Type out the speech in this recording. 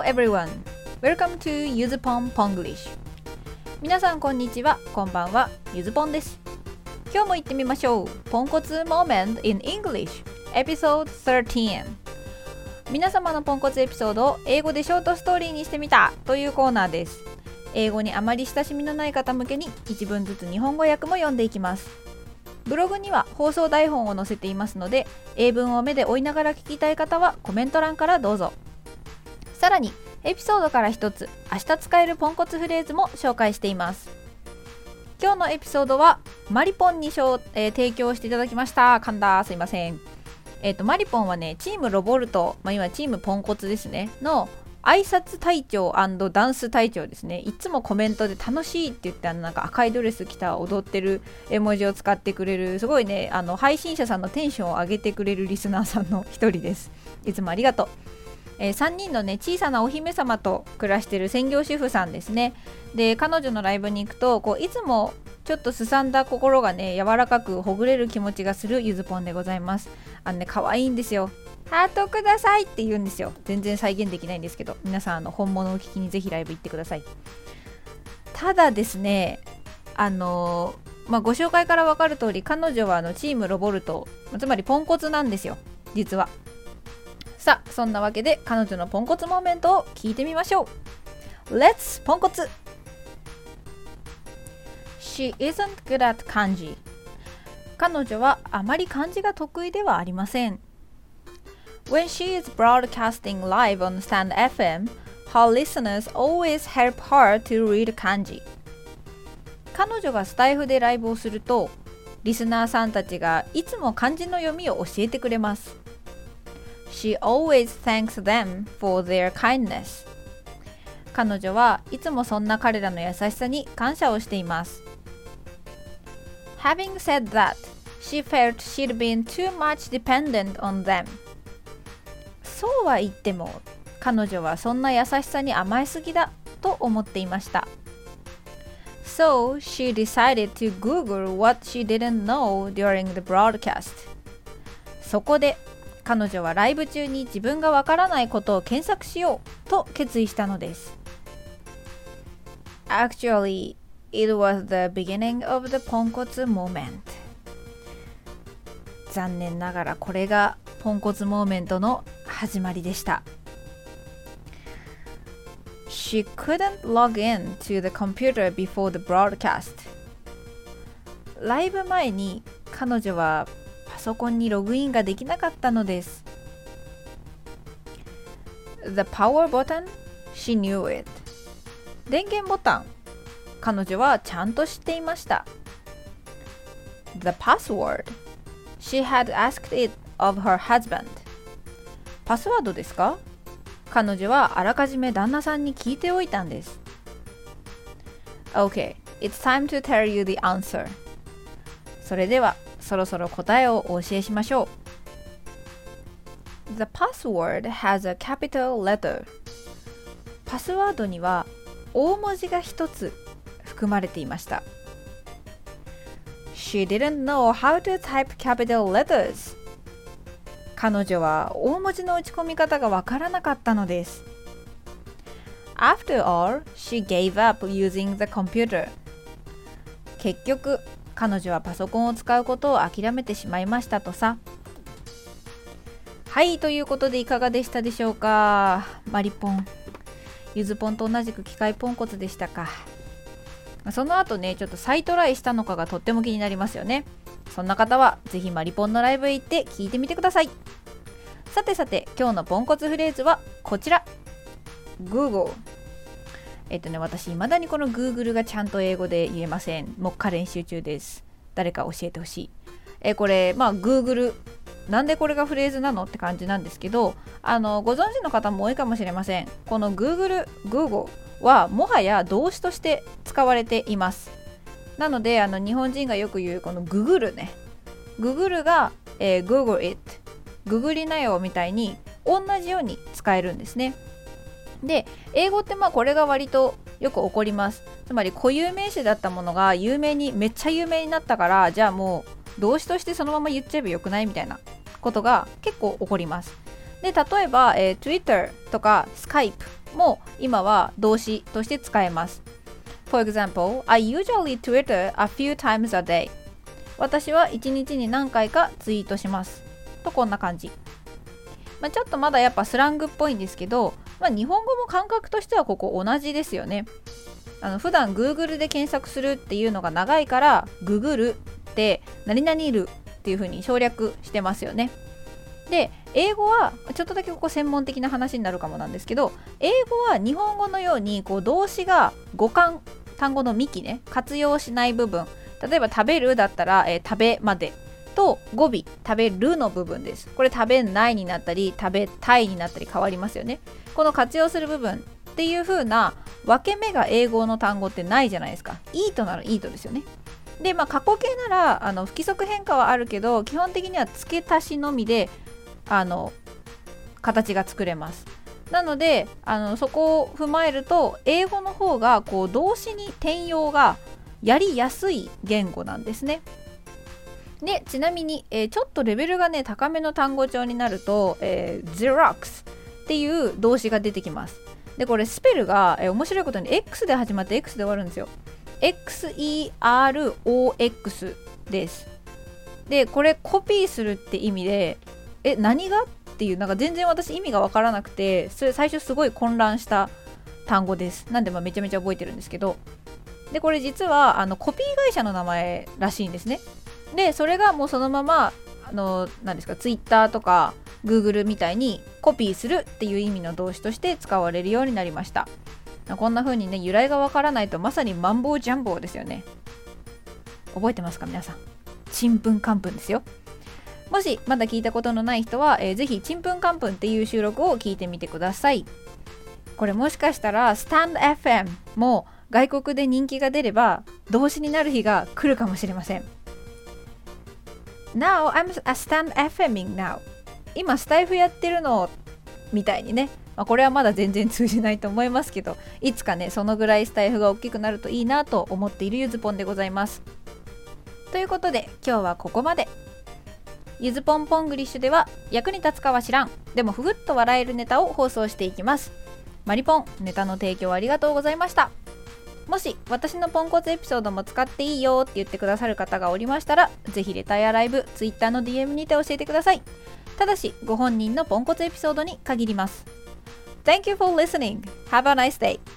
everyone! Welcome to Yuzupon Ponglish. 皆さんこんにちは、こんばんは、ゆずぽんです。今日も行ってみましょう。ポンコツ Moment in English Episode 13。皆様のポンコツエピソードを英語でショートストーリーにしてみたというコーナーです。英語にあまり親しみのない方向けに1文ずつ日本語訳も読んでいきます。ブログには放送台本を載せていますので、英文を目で追いながら聞きたい方はコメント欄からどうぞ。さらにエピソードから一つ明日使えるポンコツフレーズも紹介しています。今日のエピソードはマリポンに提供していただきました。噛んだ、すいません。マリポンはね、チームロボルト、今チームポンコツですねの挨拶隊長&ダンス隊長ですね。いつもコメントで楽しいって言ってなんか赤いドレス着た踊ってる絵文字を使ってくれる、すごいね、配信者さんのテンションを上げてくれるリスナーさんの一人です。いつもありがとう。3人のね、小さなお姫様と暮らしてる専業主婦さんですね。で、彼女のライブに行くといつもちょっとすさんだ心がね、柔らかくほぐれる気持ちがするゆずぽんでございます。可愛いんですよ。ハートくださいって言うんですよ。全然再現できないんですけど、皆さん本物を聞きにぜひライブ行ってください。ただですね、ご紹介から分かる通り、彼女はチームロボルト、つまりポンコツなんですよ、実は。さあ、そんなわけで彼女のポンコツモーメントを聞いてみましょう。 Let's ポンコツ。 She isn't good at 漢字。彼女はあまり漢字が得意ではありません。 When she is broadcasting live on Stand FM, her listeners always help her to read 漢字。彼女がスタイフでライブをすると、リスナーさんたちがいつも漢字の読みを教えてくれます。She always thanks them for their kindness. 彼女はいつもそんな彼らの優しさに感謝をしています。Having said that, she felt she'd been too much dependent on them. そうは言っても、彼女はそんな優しさに甘えすぎだと思っていました。So she decided to Google what she didn't know during the broadcast. そこで彼女はライブ中に自分がわからないことを検索しようと決意したのです。Actually, it was the beginning of the ポンコツ moment. 残念ながらこれがポンコツモーメントの始まりでした。She couldn't log in to the computer before the broadcast. ライブ前に彼女はパソコンにログインができなかったのです。The power button, she knew it. 電源ボタン、彼女はちゃんと知っていました。The password, she had asked it of her husband. パスワードですか？彼女はあらかじめ旦那さんに聞いておいたんです。Okay, it's time to tell you the answer. それではそろそろ答えをお教えしましょう。The password has a capital letter. パスワードには大文字が一つ含まれていました。She didn't know how to type capital letters. 彼女は大文字の打ち込み方がわからなかったのです。After all, she gave up using the computer. 結局彼女はパソコンを使うことを諦めてしまいましたとさ。はい、ということでいかがでしたでしょうか。マリポン、ゆずぽんと同じく機械ポンコツでしたか。その後ね、ちょっと再トライしたのかがとっても気になりますよね。そんな方はぜひマリポンのライブへ行って聞いてみてください。さてさて、今日のポンコツフレーズはこちら。 Google。私未だにこの Google がちゃんと英語で言えません。目下練習中です。誰か教えてほしい。これGoogle、なんでこれがフレーズなのって感じなんですけど、ご存知の方も多いかもしれません。この Google はもはや動詞として使われています。なので日本人がよく言うこの Google ね、 Google が、Google it、 ググりなよみたいに同じように使えるんですね。で、英語ってこれが割とよく起こります。つまり固有名詞だったものがめっちゃ有名になったから、じゃあもう動詞としてそのまま言っちゃえばよくないみたいなことが結構起こります。で、例えば、Twitter とか Skype も今は動詞として使えます。For example, I usually Twitter a few times a day. 私は1日に何回かツイートします。とこんな感じ。ちょっとまだやっぱスラングっぽいんですけど、日本語も感覚としてはここ同じですよね。普段 Google で検索するっていうのが長いから Google って何々るっていう風に省略してますよね。で、英語はちょっとだけここ専門的な話になるかもなんですけど、英語は日本語のように動詞が語幹、単語の幹ね、活用しない部分、例えば食べるだったら、食べまでと語尾食べるの部分です。これ食べないになったり食べたいになったり変わりますよね。この活用する部分っていう風な分け目が英語の単語ってないじゃないですか。イートならイートですよね。で、過去形なら不規則変化はあるけど、基本的には付け足しのみで形が作れます。なのでそこを踏まえると英語の方が動詞に転用がやりやすい言語なんですね。で、ちなみに、ちょっとレベルがね高めの単語帳になると、Xerox っていう動詞が出てきます。で、これスペルが、面白いことに X で始まって X で終わるんですよ。XEROX です。で、これコピーするって意味で何がっていう、全然私意味が分からなくて、それ最初すごい混乱した単語です。なんでめちゃめちゃ覚えてるんですけど、でこれ実はコピー会社の名前らしいんですね。でそれがもうそのまま何ですか、ツイッターとか Google みたいにコピーするっていう意味の動詞として使われるようになりました。こんな風にね、由来がわからないとまさにマンボウジャンボウですよね。覚えてますか皆さん。ちんぷんかんぷんですよ。もしまだ聞いたことのない人は、ぜひちんぷんかんぷんっていう収録を聞いてみてください。これもしかしたらスタンド FM も外国で人気が出れば動詞になる日が来るかもしれません。Now I'm a stand FMing now. 今スタイフやってるのみたいにね、これはまだ全然通じないと思いますけど、いつかねそのぐらいスタイフが大きくなるといいなと思っているゆずぽんでございます。ということで今日はここまで。ゆずぽんポングリッシュでは役に立つかは知らん、でもふふっと笑えるネタを放送していきます。マリポン、ネタの提供ありがとうございました。もし私のポンコツエピソードも使っていいよって言ってくださる方がおりましたら、ぜひレターやライブ、ツイッターの DM にて教えてください。ただしご本人のポンコツエピソードに限ります。Thank you for listening. Have a nice day.